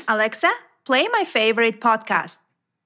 Alexa, play my favorite podcast.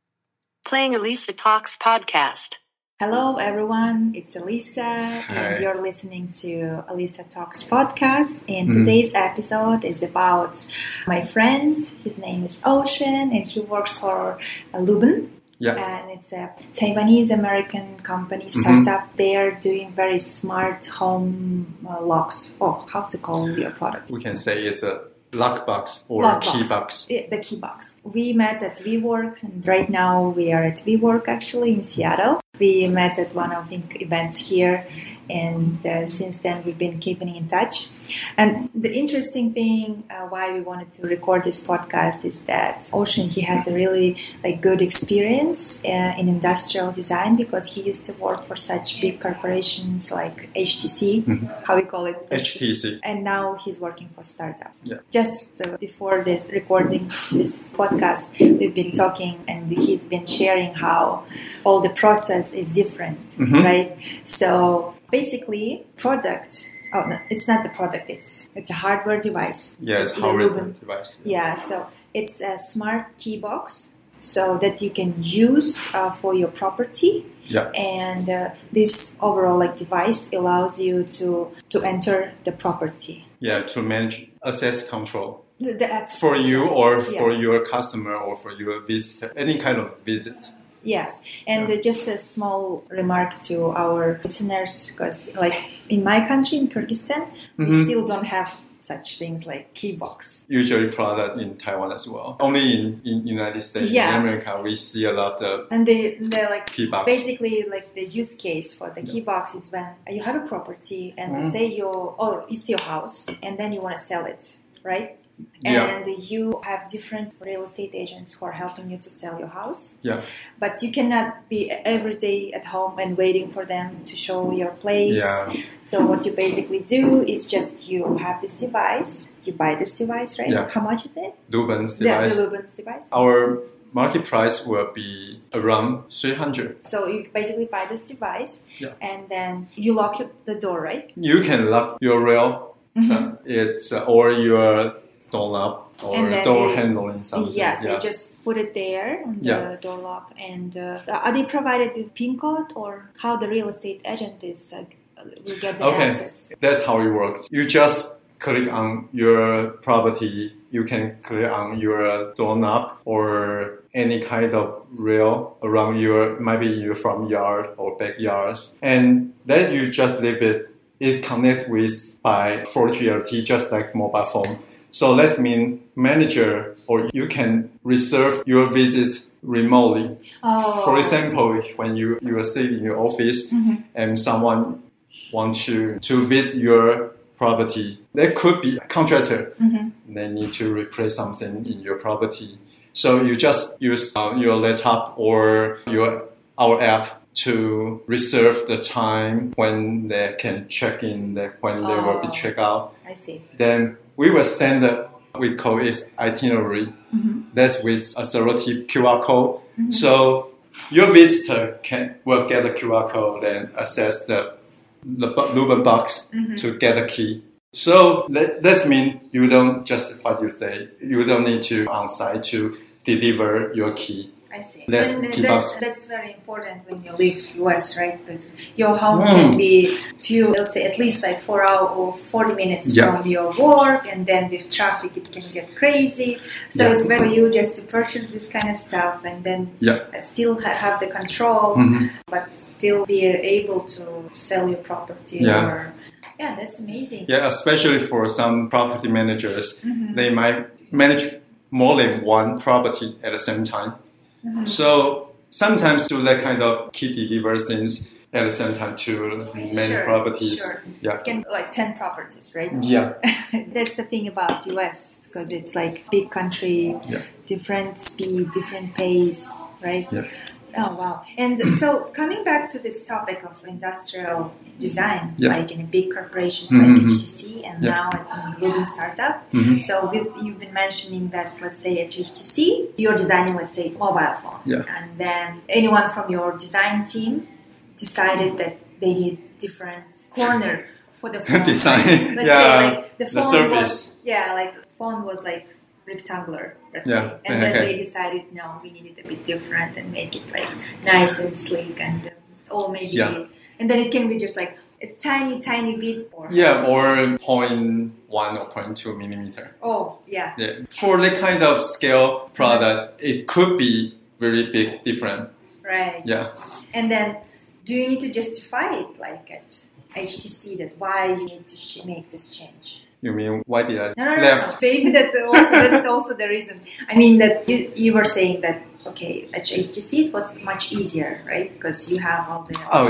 Playing Elisa Talks podcast. Hello, everyone. It's Elisa, and you're listening to Elisa Talks podcast. And today's episode is about my friend. His name is Ocean, and he works for Luben. Yeah. And it's a Taiwanese-American company startup. They are doing very smart home locks. Oh, how to call your product? We can say it's a lock box or key box. Yeah, the key box. We met at WeWork, and right now we are at WeWork actually in Seattle. We met at one of the events here, and since then we've been keeping in touch. And the interesting thing why we wanted to record this podcast is that Ocean, he has a really good experience in industrial design because he used to work for such big corporations like HTC, how we call it? HTC. And now he's working for startup. Yeah. Just before this recording this podcast, we've been talking and he's been sharing how all the process is different, right? So basically, product. Oh no, it's not the product. It's a hardware device. Yes, hardware device. Yeah, so it's a smart key box, so that you can use for your property. Yeah. And this overall device allows you to enter the property. Yeah, to manage access control. That's for you or for your customer or for your visitor, any kind of visit. Yes, and just a small remark to our listeners, because in my country, in Kyrgyzstan, we still don't have such things like key box. Usually product in Taiwan as well. Only in United States, in America, we see a lot of and they're key box. Basically, the use case for the key box is when you have a property and let's say it's your house and then you want to sell it, right? And you have different real estate agents who are helping you to sell your house. Yeah. But you cannot be every day at home and waiting for them to show your place. Yeah. So what you basically do is just you have this device. You buy this device, right? Yeah. How much is it? Luben's device. The Luben's device. Our market price will be around 300. So you basically buy this device and then you lock the door, right? You can lock your rail. So it's or your doorknob or door handling something. Yes, you just put it there on the door lock. And are they provided with PIN code or how the real estate agent is will get the access? That's how it works. You just click on your property. You can click on your doorknob or any kind of rail around maybe your front yard or backyards. And then you just leave it. It's connected with by 4G LTE, just like mobile phone. So that means manager or you can reserve your visit remotely. Oh. For example, when you are sitting in your office and someone wants to visit your property, there could be a contractor. They need to replace something in your property. So you just use your laptop or our app to reserve the time when they can check in, when they will be checked out. I see. Then we will send we call it itinerary. That's with a selective QR code. So your visitor will get the QR code and access the Luben box to get a key. So that means you don't just what you say. You don't need to on site to deliver your key. I see. That's very important when you leave US, right? Because your home can be let's say at least 4 hours or 40 minutes from your work, and then with traffic it can get crazy. So it's better for you just to purchase this kind of stuff and then still have the control, but still be able to sell your property. Yeah, that's amazing. Yeah, especially for some property managers, they might manage more than one property at the same time. So sometimes do that kind of key delivery things at the same time to many properties. Sure. Yeah. Can 10 properties, right? Yeah. That's the thing about US because it's big country, different speed, different pace, right? Yeah. Oh, wow. And so coming back to this topic of industrial design, in big corporations like HTC and now in Luben startup. So you've been mentioning that, let's say at HTC, you're designing, let's say, mobile phone. Yeah. And then anyone from your design team decided that they need different corner for the phone. Design. Let's say, the phone surface. phone was rectangular, let's Yeah. say. And then they decided, no, we need it a bit different and make it like nice and sleek and maybe, and then it can be just like a tiny, tiny bit. Or 0.1 or 0.2 millimeter. Oh, yeah. For that kind of scale product, it could be very big different. Right. Yeah. And then, do you need to justify it like at HTC that why you need to make this change? You mean why did I No. left? Maybe that's also the reason. I mean that you were saying that okay, at HTC it was much easier, right? Because you have all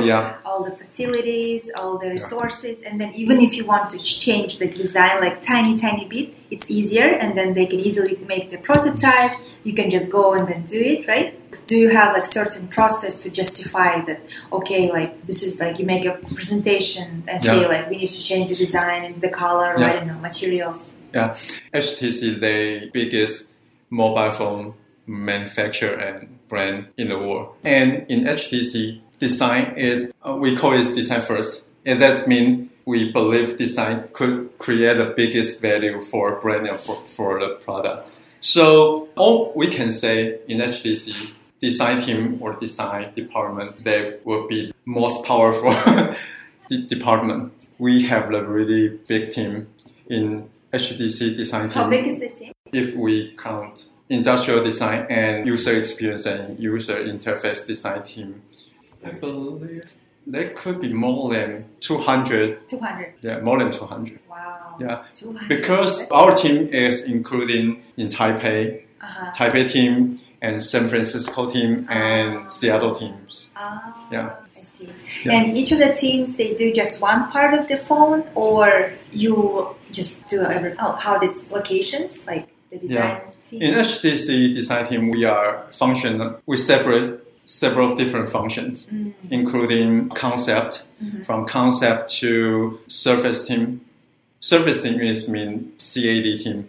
the facilities, all the resources, and then even if you want to change the design like tiny bit, it's easier, and then they can easily make the prototype. You can just go and then do it, right? Do you have like certain process to justify that? Okay, like this is like you make a presentation and say like we need to change the design and the color, or I don't know, materials. Yeah, HTC the biggest mobile phone manufacturer and brand in the world, and in HTC, design is we call it design first, and that means we believe design could create the biggest value for a brand and for the product. So all we can say in HTC, design team or design department, they will be most powerful department. We have a really big team in HTC design team. How big is the team? If we count industrial design and user experience and user interface design team, I believe there could be more than 200. 200? Yeah, more than 200. Wow. Yeah, 200. Because our team is including in Taipei, Taipei team, and San Francisco team, and Seattle teams. I see. Yeah. And each of the teams, they do just one part of the phone, or you just do everything? How these locations, like the design team? In HTC design team, we are we separate several different functions, including concept, from concept to surface team. Surface team mean CAD team.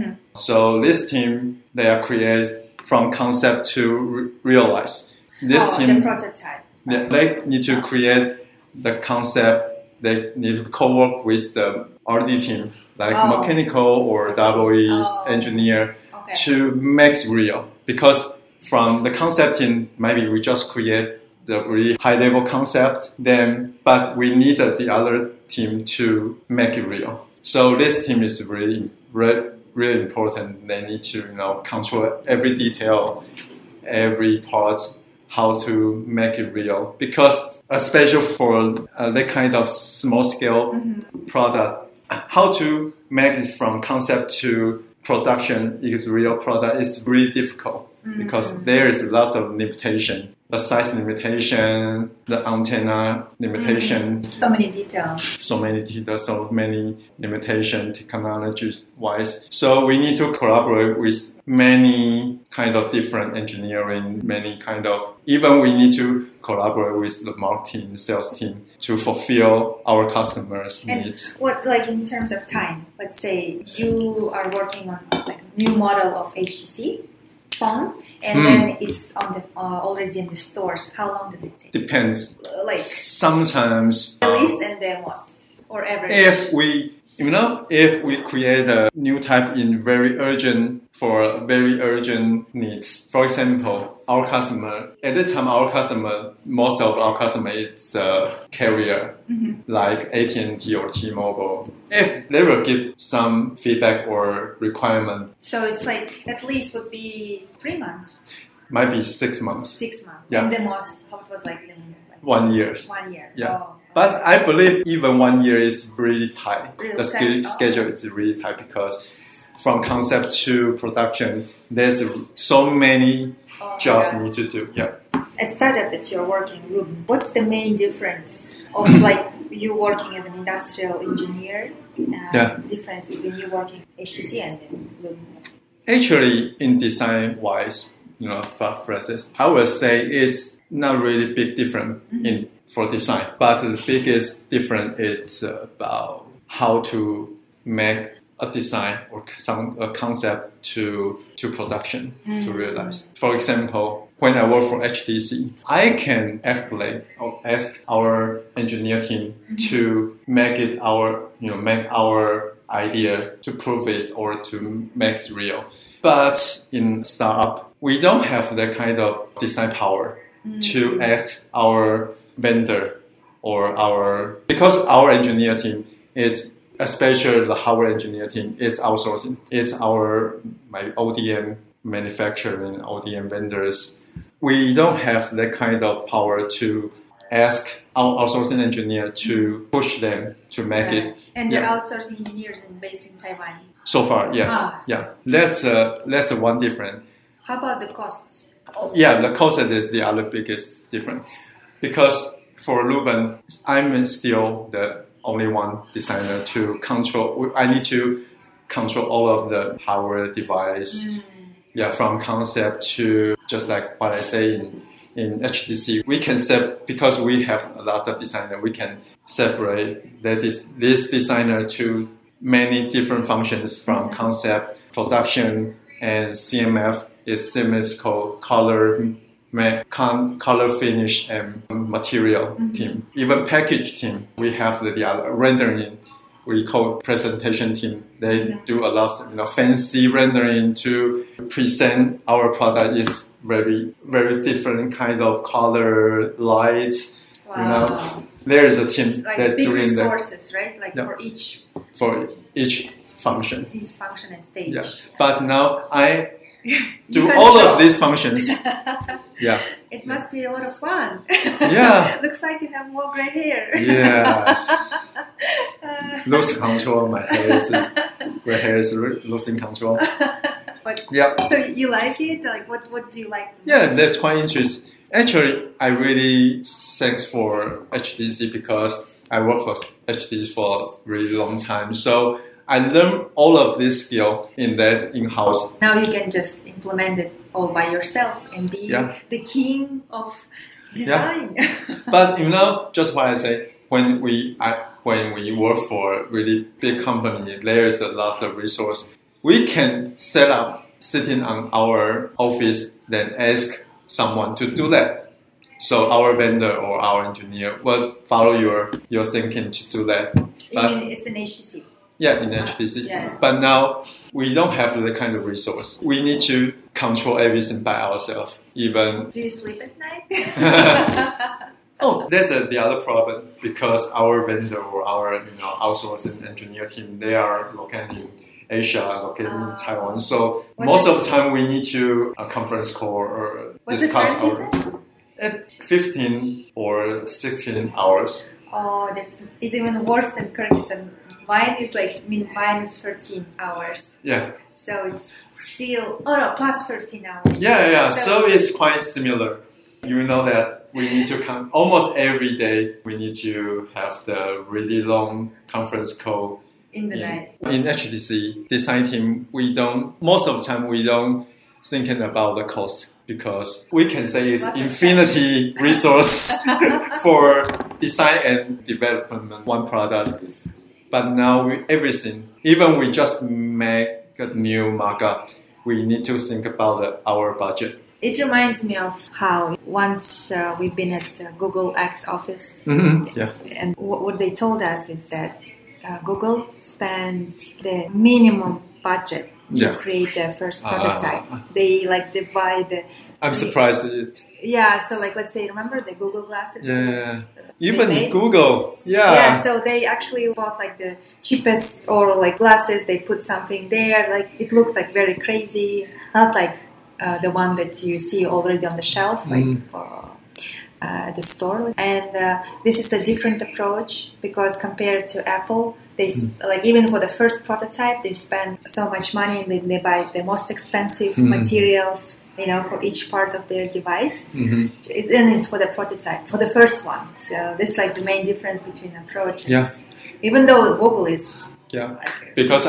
So this team, they are created from concept to realize. This team, the prototype. They need to create the concept. They need to co-work with the R&D team, like mechanical or EE engineer, to make it real. Because from the concept team, maybe we just create the really high-level concept, but we need the other team to make it real. So this team is really important. They need to control every detail, every part, how to make it real. Because especially for that kind of small scale product, how to make it from concept to production is real product is really difficult because there is a lot of limitation. The size limitation, the antenna limitation. So many details. So many limitations technology-wise. So we need to collaborate with many kind of different engineering, even we need to collaborate with the marketing, sales team to fulfill our customers' needs. What, like in terms of time, let's say you are working on like a new model of HTC phone, and then it's on the already in the stores. How long does it take? Depends. Like sometimes the least and the most, or average. If we create a new type in very urgent needs. For example, most of our customer is a carrier like AT&T or T-Mobile. If they will give some feedback or requirement. So it's like at least would be 3 months. Might be 6 months. 6 months. Yeah. And the most, how it was like 1 year. 1 year. Yeah. Oh. But I believe even 1 year is really tight. Really schedule is really tight because from concept to production, there's so many jobs need to do. Yeah. At startup that you're working, what's the main difference of like you working as an industrial engineer? Difference between you working HTC and then Lumen? Actually, in design-wise, process, I would say it's not really big difference for design, but the biggest difference is about how to make a design or a concept to production to realize. For example, when I work for HTC, I can ask our engineer team to make our idea to prove it or to make it real. But in startup, we don't have that kind of design power to ask our vendor or because our engineer team is, especially the hardware engineer team, is outsourcing. It's our ODM manufacturing, ODM vendors. We don't have that kind of power to ask our outsourcing engineer to push them to make it. And the outsourcing engineers are based in Taiwan. So far, yes. Yeah. That's one difference. How about the costs? Yeah, the cost is the other biggest difference. Because for Ruben, I'm still the only one designer to control. I need to control all of the hardware device. Yeah, from concept to just like what I say in HTC, we can because we have a lot of designer, we can separate this designer to many different functions from concept, production, and CMF is symmetrical, color finish, and material team. Even package team, we have the other rendering. We call presentation team. They do a lot of fancy rendering to present our product. Is very very different kind of color, light. Wow. There is a team like that big doing resources, right? Like for each function. Each function and stage. Yeah. But now I do all of these functions. Yeah. It must be a lot of fun. Yeah. Looks like you have more gray hair. Yes. Lose control. My hair is losing control. But, yeah. So you like it? Like what do you like? Yeah, that's quite interesting. Actually, I really thanks for HTC because I worked for HTC for a really long time. So I learned all of this skill in that in-house. Now you can just implement it all by yourself and be the king of design. Yeah. But just what I say, when we work for a really big company, there is a lot of resource. We can set up sitting on our office, then ask someone to do that. So our vendor or our engineer will follow your thinking to do that. But it's an HTC. Yeah, in HTC. Yeah. But now we don't have that kind of resource. We need to control everything by ourselves. Even. Do you sleep at night? Oh, that's the other problem because our vendor or our outsourcing engineer team, they are located in Asia, located in Taiwan. So most of the time we need to conference call or discuss at 15 or 16 hours. Oh, it's even worse than Kyrgyzstan. Mine is 13 hours. Yeah. So it's still, plus 13 hours. Yeah. So it's quite similar. You know that we need to come almost every day. We need to have the really long conference call. In the night. In HTC design team, most of the time we don't thinking about the cost because we can say it's infinity resource for design and development one product. But now everything, even we just make a new markup, we need to think about our budget. It reminds me of how once we've been at Google X office. Mm-hmm. Yeah. And what they told us is that Google spends the minimum budget to create the first prototype. They buy the... I'm surprised at it. Yeah, so let's say, remember the Google glasses? Yeah. Even Google. Yeah. Yeah, so they actually bought the cheapest or glasses. They put something there. It looked very crazy. Not like the one that you see already on the shelf, for the store. And this is a different approach because compared to Apple, they even for the first prototype, they spend so much money and they buy the most expensive materials, for each part of their device. Mm-hmm. Then it's for the prototype, for the first one. So this is the main difference between approaches. Yeah. Even though Google is... Yeah, because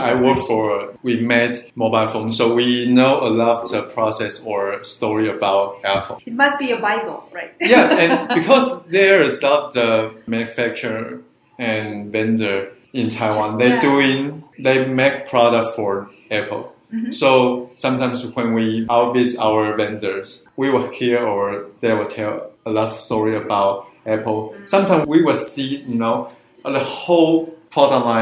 we made mobile phones, so we know a lot of process or story about Apple. It must be a Bible, right? Yeah, and because there is not the manufacturer and vendor in Taiwan, they make product for Apple. Mm-hmm. So sometimes when we visit our vendors, we will hear or they will tell a lot of story about Apple. Mm-hmm. Sometimes we will see, the whole product line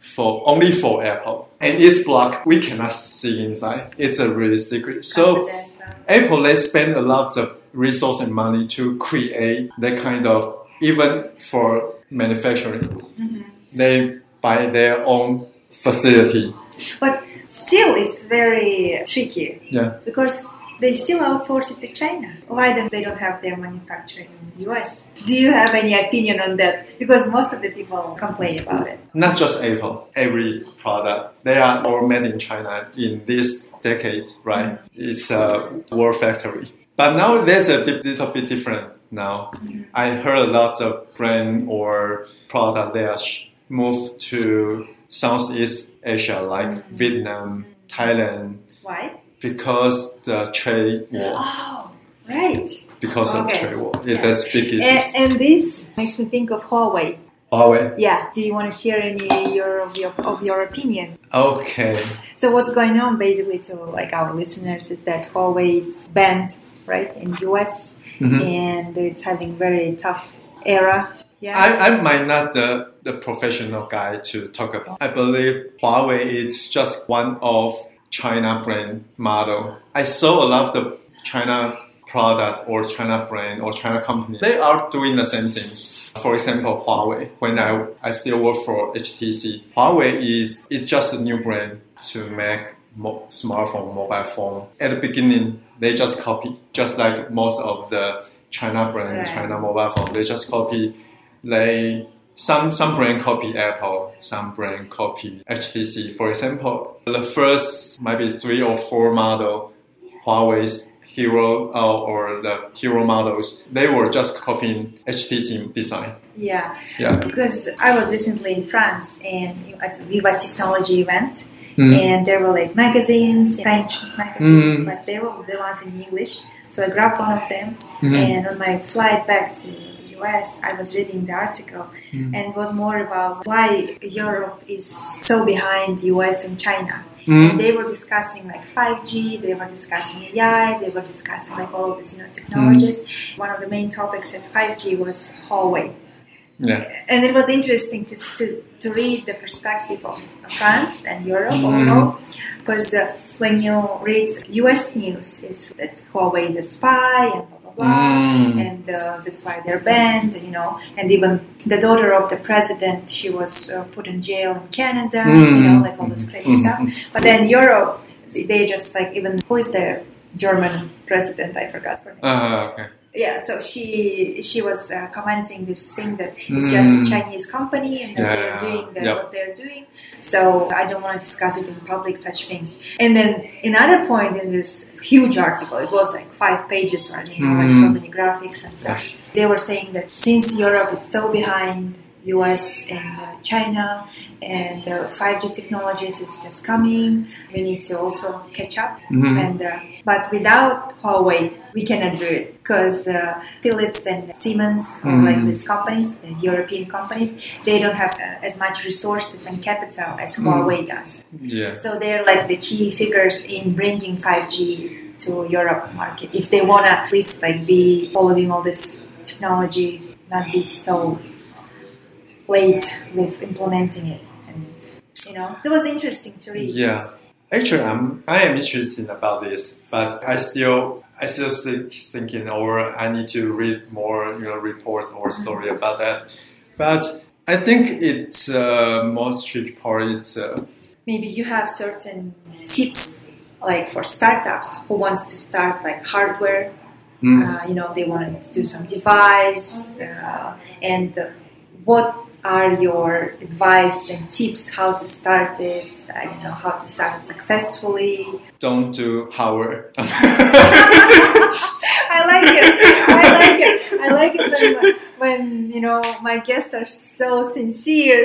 only for Apple, and it's blocked. We cannot see inside. It's a really secret. So Apple, they spend a lot of resource and money to create that kind of, even for manufacturing, they buy their own facility. But still, it's very tricky. Yeah. Because they still outsource it to China. Why then they don't have their manufacturing in the US? Do you have any opinion on that? Because most of the people complain about it. Not just Apple, every product. They are all made in China in this decade, right? It's a war factory. But now there's a little bit different now. I heard a lot of brand or product they are moved to Southeast Asia, like Vietnam, Thailand. Why? Because the trade war. Oh, right. Because of trade war. That's big. And this makes me think of Huawei. Huawei? Yeah. Do you want to share any of your opinion? Okay. So what's going on basically to like our listeners is that Huawei is banned, right, in US, and it's having very tough era. Yeah. I might not the professional guy to talk about. I believe Huawei is just one of China brand model. I saw a lot of China product or China brand or China company. They are doing the same things. For example, Huawei. When I still work for HTC, Huawei is just a new brand to make smartphone, mobile phone. At the beginning, they just copy, just like most of the China brand, China mobile phone. They just copy. Some brand copy Apple, some brand copy HTC. For example, the first maybe 3 or 4 model, Huawei's Hero or the Hero models, they were just copying HTC design. Yeah. Because I was recently in France and at the Viva Technology event, and there were like magazines, French magazines, but they were the ones in English. So I grabbed one of them, and on my flight back to US, I was reading the article and it was more about why Europe is so behind US and China. And they were discussing like 5G, they were discussing AI, they were discussing like all of these technologies. One of the main topics at 5G was Huawei. Yeah. And it was interesting just to read the perspective of France and Europe overall, because when you read US news, it's that Huawei is a spy and and that's why they're banned, and even the daughter of the president, she was put in jail in Canada, like all this crazy stuff. But then Europe, they just like, even, who is the German president? I forgot her name. Okay. Yeah, so she was commenting this thing that it's just a Chinese company and that they're doing what they're doing. So I don't want to discuss it in public, such things. And then another point in this huge article, it was like 5 pages, or like so many graphics and stuff. They were saying that since Europe is so behind US and China, and 5G technologies is just coming, we need to also catch up. And but without Huawei, we cannot do it, because Philips and Siemens, or like these companies, the European companies, they don't have as much resources and capital as Huawei does. Yeah. So they're like the key figures in bringing 5G to Europe market. If they want to at least like be following all this technology, not be so late with implementing it, and it was interesting to read. Yeah, actually, I am interested about this, but I still thinking, or I need to read more, reports or story about that. But I think it's most tricky part. It's maybe you have certain tips, like for startups who wants to start like hardware. They want to do some device, and what are your advice and tips how to start it? How to start it successfully. Don't do hardware. I like it when my guests are so sincere.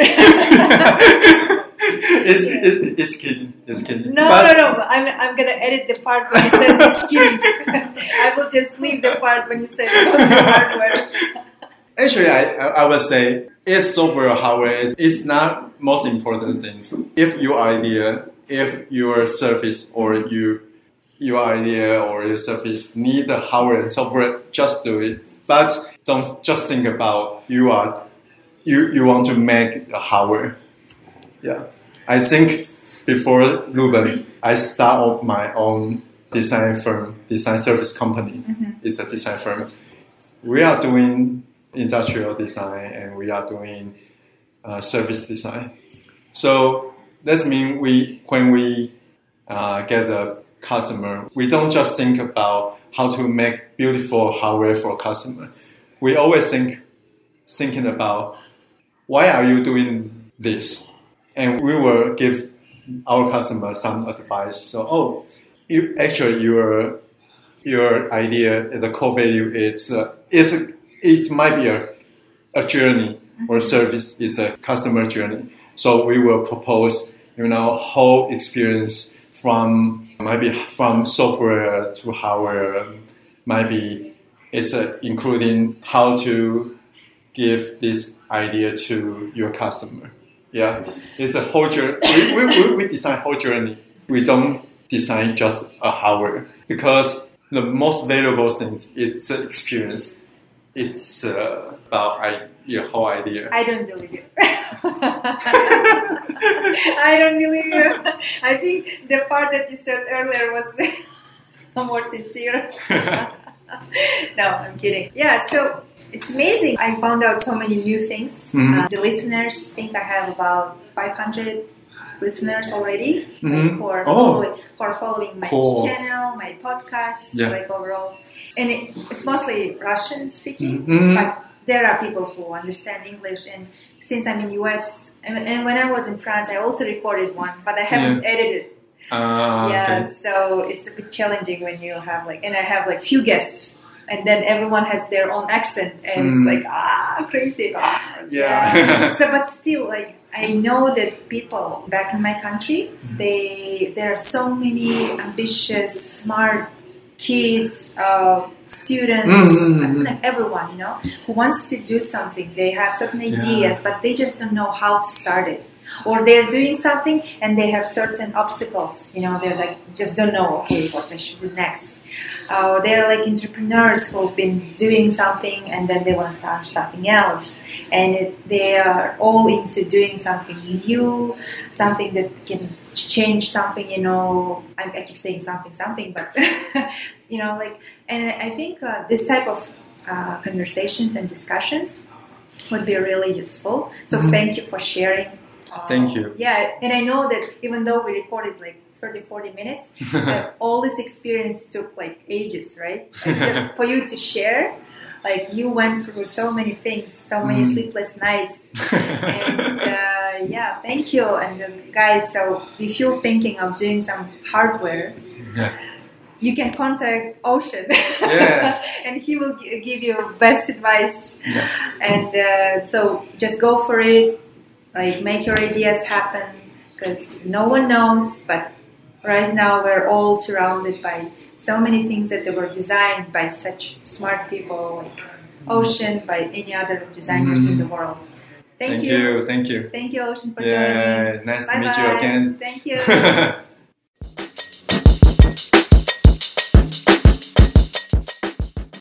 It's kidding. It's kidding. No. I'm gonna edit the part when you said it's kidding. I will just leave the part when you said don't do hardware. Actually, I would say it's software or hardware is not most important things. If your idea, if your service or your idea or your service need the hardware and software, just do it. But don't just think about you want to make the hardware. Yeah. I think before Ruben, I started my own design firm, design service company. It's a design firm. We are doing industrial design and we are doing service design. So that means when we get a customer, we don't just think about how to make beautiful hardware for a customer. We always thinking about why are you doing this, and we will give our customer some advice. So, your idea, the core value it might be a journey or service is a customer journey. So we will propose, whole experience from software to hardware. Maybe it's including how to give this idea to your customer. Yeah, it's a whole journey. We design whole journey. We don't design just a hardware because the most valuable thing it's experience. It's about your whole idea. I don't believe you. I don't believe you. I think the part that you said earlier was more sincere. No, I'm kidding. Yeah, so it's amazing. I found out so many new things. The listeners, think I have about 500 listeners already who are following my channel, my podcast, like overall. And it's mostly Russian speaking, but there are people who understand English. And since I'm in US, and when I was in France, I also recorded one, but I haven't edited. Okay. So it's a bit challenging when you have and I have few guests, and then everyone has their own accent, and it's crazy. Yeah. So, but still, I know that people back in my country, there are so many ambitious, smart kids, students, everyone, who wants to do something. They have certain ideas, but they just don't know how to start it. Or they're doing something and they have certain obstacles, they're just don't know, what I should do next. Or they're entrepreneurs who've been doing something and then they want to start something else. And they are all into doing something new, something that can change something, I keep saying something, but, and I think this type of conversations and discussions would be really useful. So thank you for sharing. Thank you. Yeah, and I know that even though we recorded 30-40 minutes, all this experience took ages, right? Just for you to share, you went through so many things, so many sleepless nights. And thank you. And guys, so if you're thinking of doing some hardware, you can contact Ocean. And he will give you best advice. And so just go for it. Make your ideas happen, because no one knows, but right now we're all surrounded by so many things that they were designed by such smart people like Ocean, by any other designers in the world. Thank you. Thank you. Thank you, Ocean, for joining. Nice Bye-bye. to meet you again. Thank you.